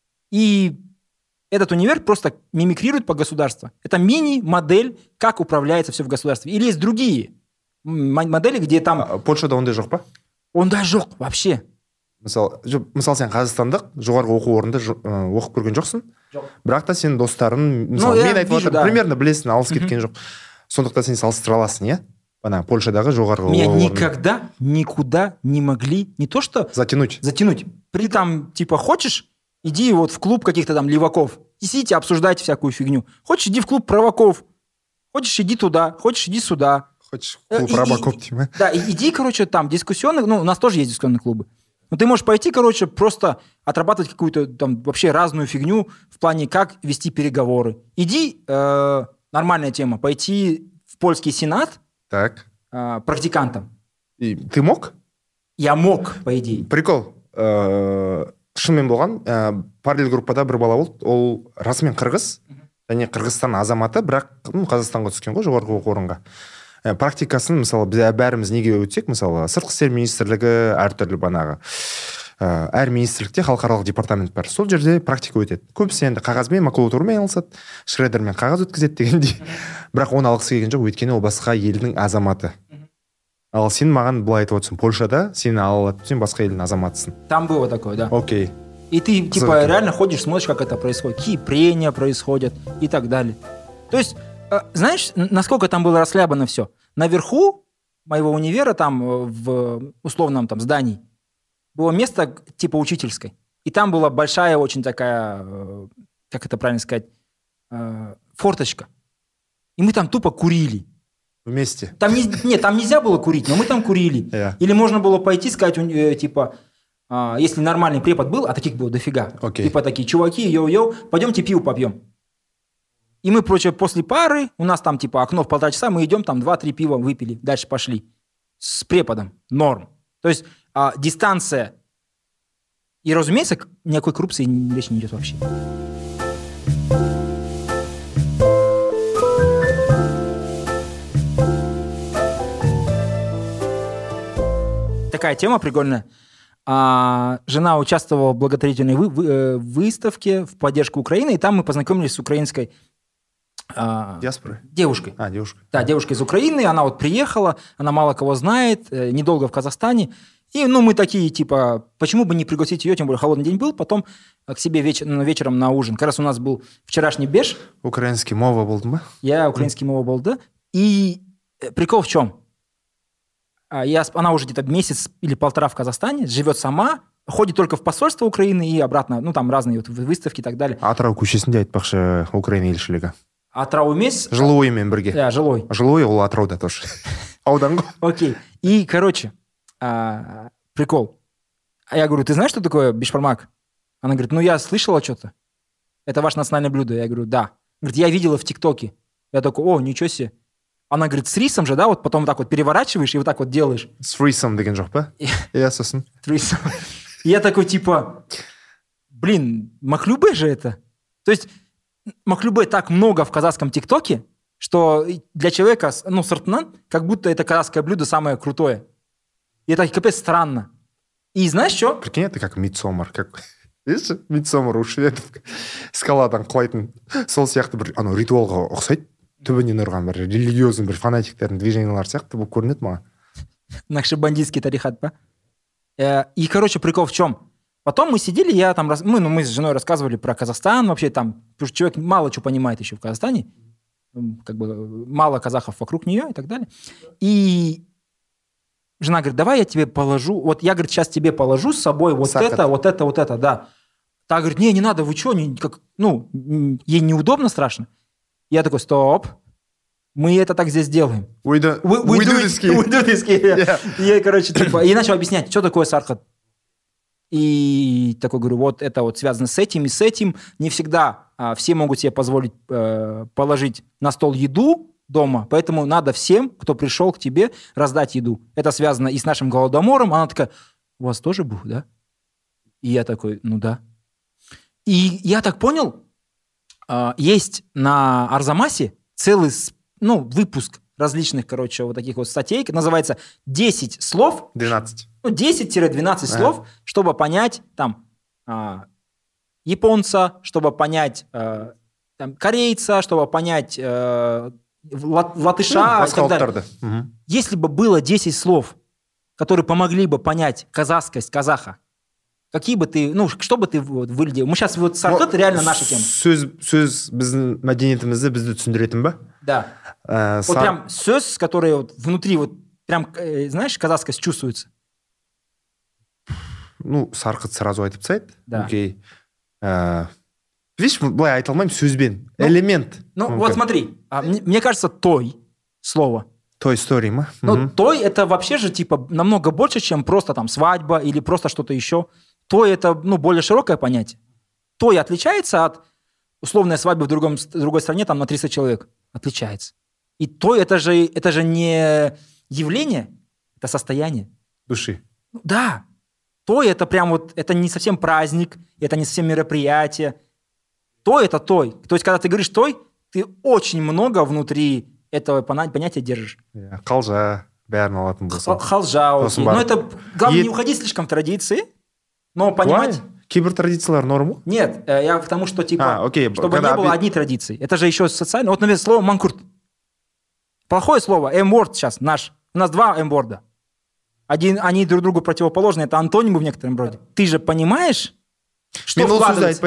И этот универ просто мимикрирует под государство. Это мини-модель, как управляется все в государстве. Или есть другие модели, где там... Польшада ондай жоқ па? Ондай жоқ, вообще. Мысалы, сен Қазақстандық жоғарғы оқу орнында оқып көрген жоқсың. Жоқ. Бірақ та сен достарын, мысалы, мен айтып отырмын, примерно білесің, алыс кеткен жоқ. Сондықтан сен салыстыра аласың, иә? Ана Польшадағы жоғарғы оқу орны. Меня никогда никуда не могли, не то что... Затянуть. При там, типа, хочешь, иди вот в клуб каких-то там леваков. И сидите, обсуждайте всякую фигню. Хочешь, иди в клуб праваков. Хочешь, иди туда. Хочешь, иди сюда. Хочешь, клуб праваков, типа. Да, иди, короче, там дискуссионные... Ну, у нас тоже есть дискуссионные клубы. Но ты можешь пойти, короче, просто отрабатывать какую-то там вообще разную фигню в плане, как вести переговоры. Иди, нормальная тема, пойти в польский сенат практикантом. И ты мог? Я мог, по идее. Прикол. Шынымен болған, параллель группада бір бала болды, ол расымен қырғыз, және Қырғызстан азаматы, бірақ Қазақстанға түскен ғой, жоғарғы оқу орынға. Практикасын, мысалы, біз бәріміз неге өтсек, мысалы, сыртқы істер министрлігі әртүрлі банағы. Әр министрлікте халықаралық департамент бар. Сол жерде практика өтеді. Көбісі енді қағазбен, макулатурамен айналысады, шредермен қағаз өткізеді дегендей. Бірақ оны алғысы келген жоқ, өйткені ол басқа елдің азаматы. Ал сен маған былай айтып отырсың, Польшада сені ала алады, сен басқа елдің азаматысың. Там было такое, да. Окей. И ты, типа, реально ходишь, смотришь, как это происходит, какие прения происходят и так далее. То есть, знаешь, насколько там было расхлябано все? Наверху моего универа, там, в условном там здании, было место типа учительской. И там была большая очень такая, как это правильно сказать, форточка. И мы там тупо курили. Вместе? Там там нельзя было курить, но мы там курили. Или можно было пойти сказать, типа, если нормальный препод был, а таких было дофига. Типа такие, чуваки, йоу-йоу, пойдемте пиво попьем. И мы, после пары, у нас там типа окно в 1,5 часа, мы идем там 2-3 пива выпили, дальше пошли. С преподом. Норм. То есть дистанция. И, разумеется, никакой коррупции речи не идет вообще. Такая тема прикольная. Жена участвовала в благотворительной выставке в поддержку Украины, и там мы познакомились с украинской диаспорой? Девушкой. Девушка. Да, девушка из Украины, она вот приехала, она мало кого знает, недолго в Казахстане. И, мы такие, типа, почему бы не пригласить ее, тем более холодный день был, потом к себе вечером на ужин. Как раз у нас был вчерашний беш. Украинский мова был, да? Я украинский мова был, да. И прикол в чем? она уже где-то месяц или полтора в Казахстане, живет сама, ходит только в посольство Украины и обратно, ну, там разные вот выставки и так далее. Атырау көшесінде айтпақшы Украина елшілігі. Атырау емес. Жылоймен бірге. Да, Жылой. Жылой ол Атырауда тоже. Аудан ғой. Окей. И, короче, прикол. Я говорю, ты знаешь, что такое бишбармак? Она говорит, ну, я слышала что-то. Это ваше национальное блюдо. Я говорю, да. Говорит, я видела в ТикТоке. Я такой, о, ничего себе. Она говорит, с рисом же, да, вот потом так вот переворачиваешь и вот так вот делаешь. С рисом деген жоқ па? Иә, сосын. Рисом. Я такой, типа, блин, махлюбе же это. То есть махлюбе так много в казахском ТикТоке, что для человека, ну, сыртынан, как будто это казахское блюдо самое крутое. И это капец странно. И знаешь что? Прикинь, это как Мидсомар. Как... Видишь, Мидсомар у шведов скаладан құлайтын. Сол сияқты бір ритуалға ұқсайды. Түбінен ұрған бір религиозный бір фанатиктердің движениялары сияқты болып көрінеді маған. Нақшбандийский тарихат, па? И, короче, прикол в чем? Потом мы сидели, мы с женой рассказывали про Казахстан, вообще там, потому что человек мало чего понимает еще в Казахстане, как бы мало казахов вокруг нее и так далее. И жена говорит, давай я тебе положу, вот я, говорит, сейчас тебе положу с собой вот это, да. Та говорит, не надо, вы что, ей неудобно, страшно. Я такой, стоп, мы это так здесь делаем. We do this. Yeah. Я, короче, и начал объяснять, что такое сархат. И такой говорю, вот это вот связано с этим и с этим. Не всегда все могут себе позволить положить на стол еду дома, поэтому надо всем, кто пришел к тебе, раздать еду. Это связано и с нашим голодомором. Она такая, у вас тоже был, да? И я такой, ну да. И я так понял, есть на Арзамасе целый выпуск различных, короче, вот таких вот статей, называется 10 слов. 12. 10-12 слов, чтобы понять там японца, чтобы понять там, корейца, чтобы понять латыша и так далее. Угу. Если бы было 10 слов, которые помогли бы понять казахскость казаха, какие бы ты, что бы ты выглядел? Мы сейчас вот сархат реально наша тема. Сөз біздің мәдениетімізді бізді түсіндіретін ба? Да. Вот прям сөз, который вот внутри вот прям, знаешь, казахскость чувствуется. Сарқыт сразу айтып тастайды. Да. Окей. Видишь, былай айта алмаймын сөзбен. Элемент. Вот смотри, мне кажется, той слово. Той story, ма? Той это вообще же типа намного больше, чем просто там свадьба или просто что-то еще. Той это, более широкое понятие. Той отличается от условной свадьбы в другой стране там на 300 человек. Отличается. И той это же не явление, это состояние. Души. Да. Той это прям вот, это не совсем праздник, это не совсем мероприятие. Той это той. То есть, когда ты говоришь той, ты очень много внутри этого понятия держишь. Қалжа, бәрін алатын болса. Қалжа, окей. Но это, главное, не уходить слишком в традиции, но понимать... Кейбір традициялар норм? Нет, я к тому, что типа, окей. Чтобы не было одни традиции. Это же еще социально. Вот, например, слово манкурт. Плохое слово. M-word сейчас наш. У нас 2 M-ворда. Они друг другу противоположны. Это антонимы в некотором роде. Ты же понимаешь, что вкладывается...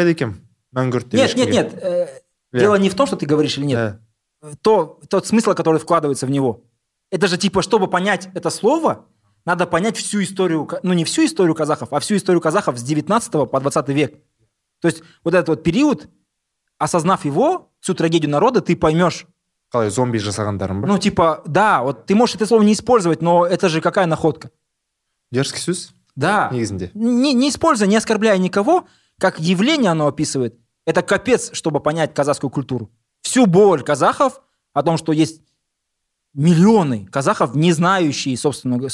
Нет. Дело не в том, что ты говоришь или нет. Тот смысл, который вкладывается в него. Это же типа, чтобы понять это слово, надо понять всю историю, не всю историю казахов, а всю историю казахов с 19 по 20 век. То есть вот этот вот период, осознав его, всю трагедию народа, ты поймешь. Қалай зомби жасағандарын ба? Да, вот ты можешь это слово не использовать, но это же какая находка. Дерзкий сөз? Да. Негізінде. Не используя, не оскорбляя никого, как явление оно описывает. Это капец, чтобы понять казахскую культуру. Всю боль казахов о том, что есть миллионы казахов, не знающие собственную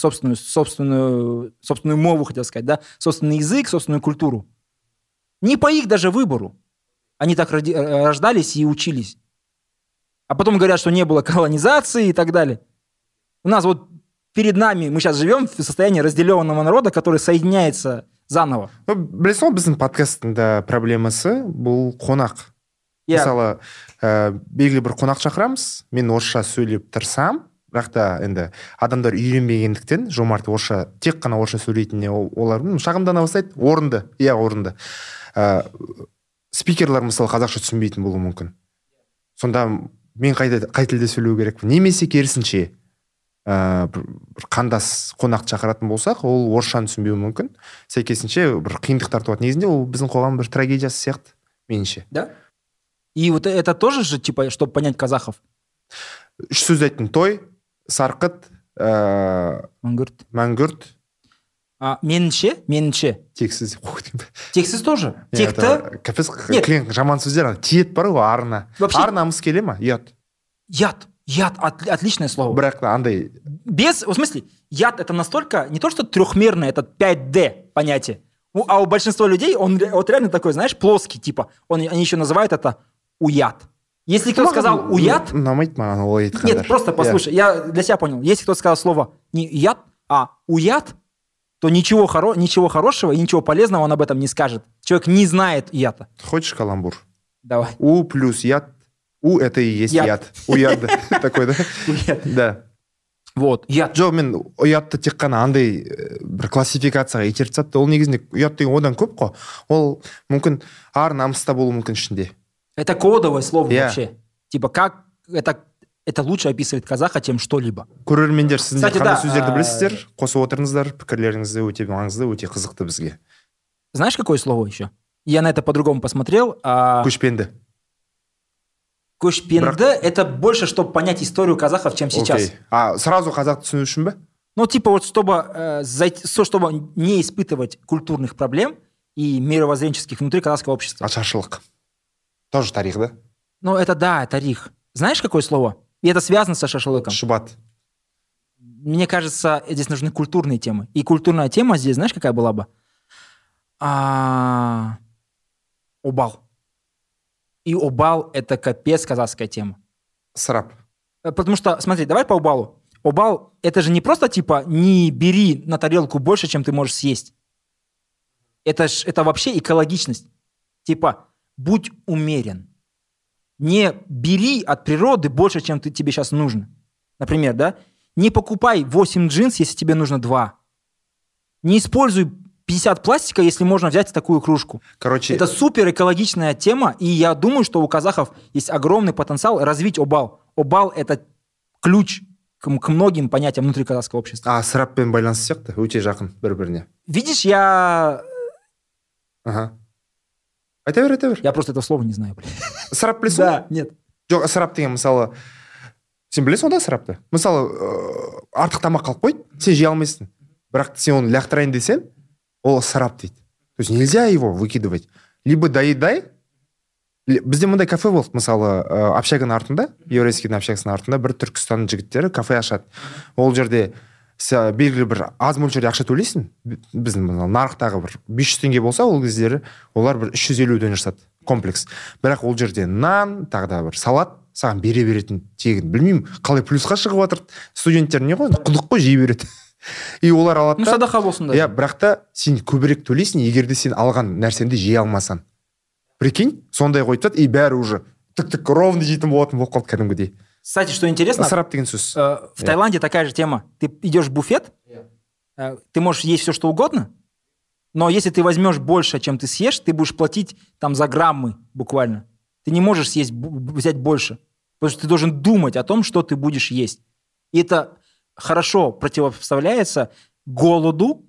мову, хотел сказать, да, собственный язык, собственную культуру. Не по их даже выбору. Они так рождались и учились. А потом говорят, что не было колонизации и так далее. У нас вот перед нами, мы сейчас живем в состоянии разделенного народа, который соединяется заново. Білесің ғой, біздің подкасттың да проблемасы бұл қонақ. Мысалы, белгілі бір қонақ шақырамыз, мен орысша сөйлеп тұрсам, бірақ та енді адамдар үйренбегендіктен, жомарт орысша, тек қана орысша сөйлейтініне олар шағымдана бастайды, орынды. Спикерлер мысалы қазақша түсінбейтін болуы мүмкін. Сонда мен қай тілде сөйлеу керекпін? Немесе керісінше. бір қандас қонақты шақыратын болсақ, ол орысшаны түсінбеуі мүмкін. Сәйкесінше бір қиындықтар туады. Негізінде ол біздің қоғам бір трагедиясы сияқты, меніңше. Да? И вот это тоже же, типа, чтобы понять казахов? Үш сөз айттым: той, сарқыт, мәңгүрт. Меніңше. Тексіз тоже. Текті. Капец, клиент жаман сөздер. Тиет бар ғой арына. Ар намыс келе ма? Ұят. Яд, отличное слово. Бірақ андай... В смысле, яд это настолько, не то что трехмерное, это 5D понятие. А у большинства людей он вот реально такой, знаешь, плоский, типа. Они еще называют это уяд. Если кто сказал уяд... Нет, просто послушай, я для себя понял. Если кто сказал слово не яд, а уяд, то ничего хорошего и ничего полезного он об этом не скажет. Человек не знает яда. Хочешь каламбур? Давай. У плюс яд. У это и есть яд. Уяд такой, да? Да. Вот, яд. Жоқ, мен ұятты тек қана андай бір классификацияға итеріп тастады. Ол негізінде ұят деген одан көп қой. Ол мүмкін ар намыста болуы мүмкін ішінде. Это кодовое слово вообще. Типа как это лучше описывает казаха, чем что-либо. Көрермендер, сіздер қандай сөздерді білесіздер? Қосып отырыңыздар, пікірлеріңізді өте маңызды, өте қызықты бізге. Знаешь, какое слово еще? Я на это по-другому посмотрел. Көшпенді. Көшпенді – это больше, чтобы понять историю казахов, чем сейчас. Сразу қазақты түсіну үшін бе? Ну, типа вот чтобы не испытывать культурных проблем и мировоззренческих внутри казахского общества. Ашаршылық. Тоже тарих, да? Ну, это да, тарих. Знаешь, какое слово? И это связано со шашлыком. Шубат. Мне кажется, здесь нужны культурные темы. И культурная тема здесь, знаешь, какая была бы? Обал. И обал – это капец казахская тема. Срап. Потому что, смотри, давай по обалу. Обал – это же не просто типа не бери на тарелку больше, чем ты можешь съесть. Это вообще экологичность. Типа будь умерен. Не бери от природы больше, чем тебе сейчас нужно. Например, да? Не покупай 8 джинс, если тебе нужно 2. Не используй 50 пластика, если можно взять такую кружку. Короче, это супер экологичная тема, и я думаю, что у казахов есть огромный потенциал развить обал. Обал – это ключ к многим понятиям внутри казахского общества. Сраппен байланысты сияқты, өте жақын бір-біріне. Видишь, я... Ага. Айта бер. Я просто этого слова не знаю. Срап білесің? Да, нет. Жоқ, срап деген мысалы... Сен білесің онда срапты? Мысалы, артық тамақ қалып қойды, сен жей алмайсың. Бірақ сен оны лақтырайын десең, ол срап дейді. То есть нельзя его выкидывать. Либо доедай. Бізде мындай кафе болды, мысалы, общаганың артында, еврейскийдің общагасының артында бір Түркістанның жігіттері кафе ашады. Ол жерде белгілі бір аз мөлшерде ақша төлейсің. Біздің нарықтағы бір 500 теңге болса, ол кездері олар бір 350-ден жасады комплекс. Бірақ ол жерде нан, тағы да бір салат саған бере беретін тегін. Білмеймін, қалай плюсқа шығып жатыр. Студенттер не ғой, құдық қой жей береді. И олар алады. Ну, садақа болсын да. Бірақ та сен көбірек төлейсің, егер де сен алған нәрсенді жей алмасан. Прикинь, сондай қойып тастады, и бәрі уже тік ровно жейтін болатын болып қалды кәдімгідей. Кстати, что интересно, срап деген сөз. В Таиланде такая же тема. Ты идешь в буфет, ты можешь есть все, что угодно, но если ты возьмешь больше, чем ты съешь, ты будешь платить там за граммы буквально. Ты не можешь взять больше, потому что ты должен думать о том, что ты будешь есть. И это хорошо противопоставляется голоду,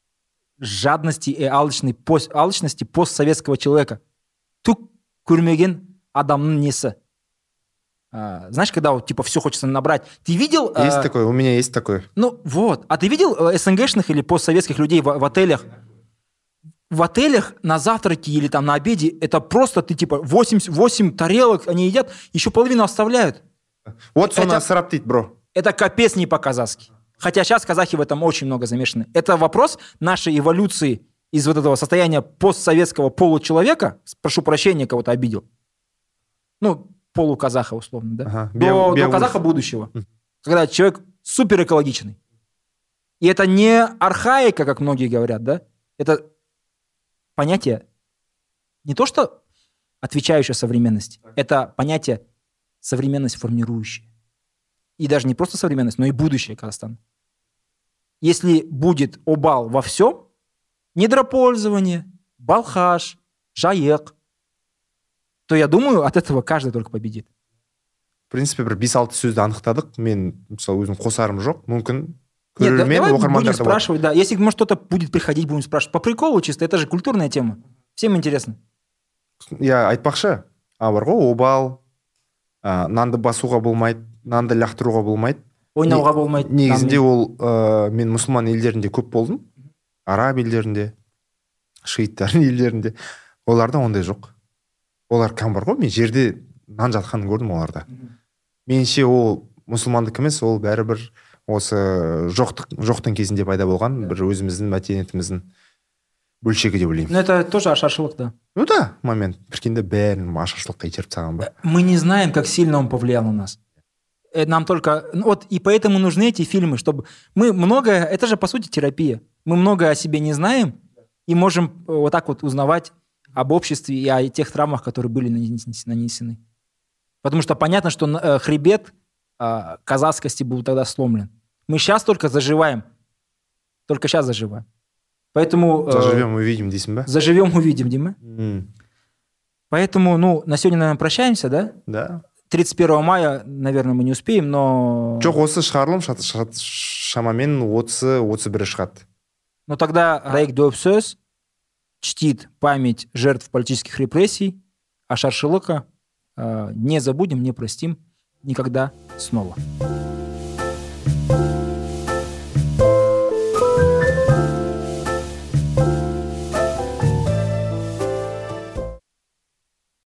жадности и алчности постсоветского человека. Түк көрмеген адамның несі. Знаешь, когда вот, типа все хочется набрать. Ты видел... Есть такое, у меня есть такое. Ну вот. А ты видел СНГшных или постсоветских людей в отелях? В отелях на завтраке или там на обеде это просто ты типа 8 тарелок они едят, еще половину оставляют. Вот это срап дейді, бро. Это капец не по-казахски. Хотя сейчас казахи в этом очень много замешаны. Это вопрос нашей эволюции из вот этого состояния постсоветского получеловека, прошу прощения, кого-то обидел. Ну, полуказаха, условно, да? Ага. До казаха будущего. Когда человек супер экологичный. И это не архаика, как многие говорят, да? Это понятие не то, что отвечающее современности. Это понятие современность формирующее. И даже не просто современность, но и будущее Казахстана. Если будет обал во всем, недропользование, балхаш, жаек, то я думаю, от этого каждый только победит. принципе, бір 5-6 сөзді анықтадық. Мен, мысалы, өзім қосарым жоқ. Мүмкін көрермен, оқырмандар будем спрашивать, да. Если, может, кто-то будет приходить, будем спрашивать. По приколу чисто, это же культурная тема. Всем интересно. Я айтпақшы, бар ғой, обал, нанды басуға болмайды, нанды лақтыруға болмайды. Ойнауға болмайды. Негізінде ол, мен мұсылман елдерінде көп болдым. Араб елдерінде, шииттардың елдерінде. Оларда ондай жоқ. Олар кәм бар ғой, мен жерде нан жатқанын көрдім оларда. Менше ол мұсылмандық емес, ол бәрібір осы жоқтың кезінде пайда болған бір өзіміздің мәдениетіміздің бөлшегі деп ойлаймын. Но это тоже ашаршылық, да. Ну да, момент. Прикиньде бәрін ашаршылыққа итеріп тастаған ба. Мы не знаем, как сильно он повлиял на нас. Нам только... Вот и поэтому нужны эти фильмы, чтобы... Мы многое... Это же, по сути, терапия. Мы многое о себе не знаем и можем вот так вот узнавать об обществе и о тех травмах, которые были нанесены. Потому что понятно, что хребет казахскости был тогда сломлен. Мы сейчас только заживаем. Только сейчас заживаем. Поэтому... Заживем, увидим, дейсің ба? Заживем, увидим, Дима. Поэтому, на сегодня, наверное, прощаемся, да? Да. 31 мая, наверное, мы не успеем, но... Жоқ, осы шығарылым шамамен 30-31 шығады. Но тогда Раик Дөпсөз чтит память жертв политических репрессий, а Ашаршылыка не забудем, не простим никогда снова.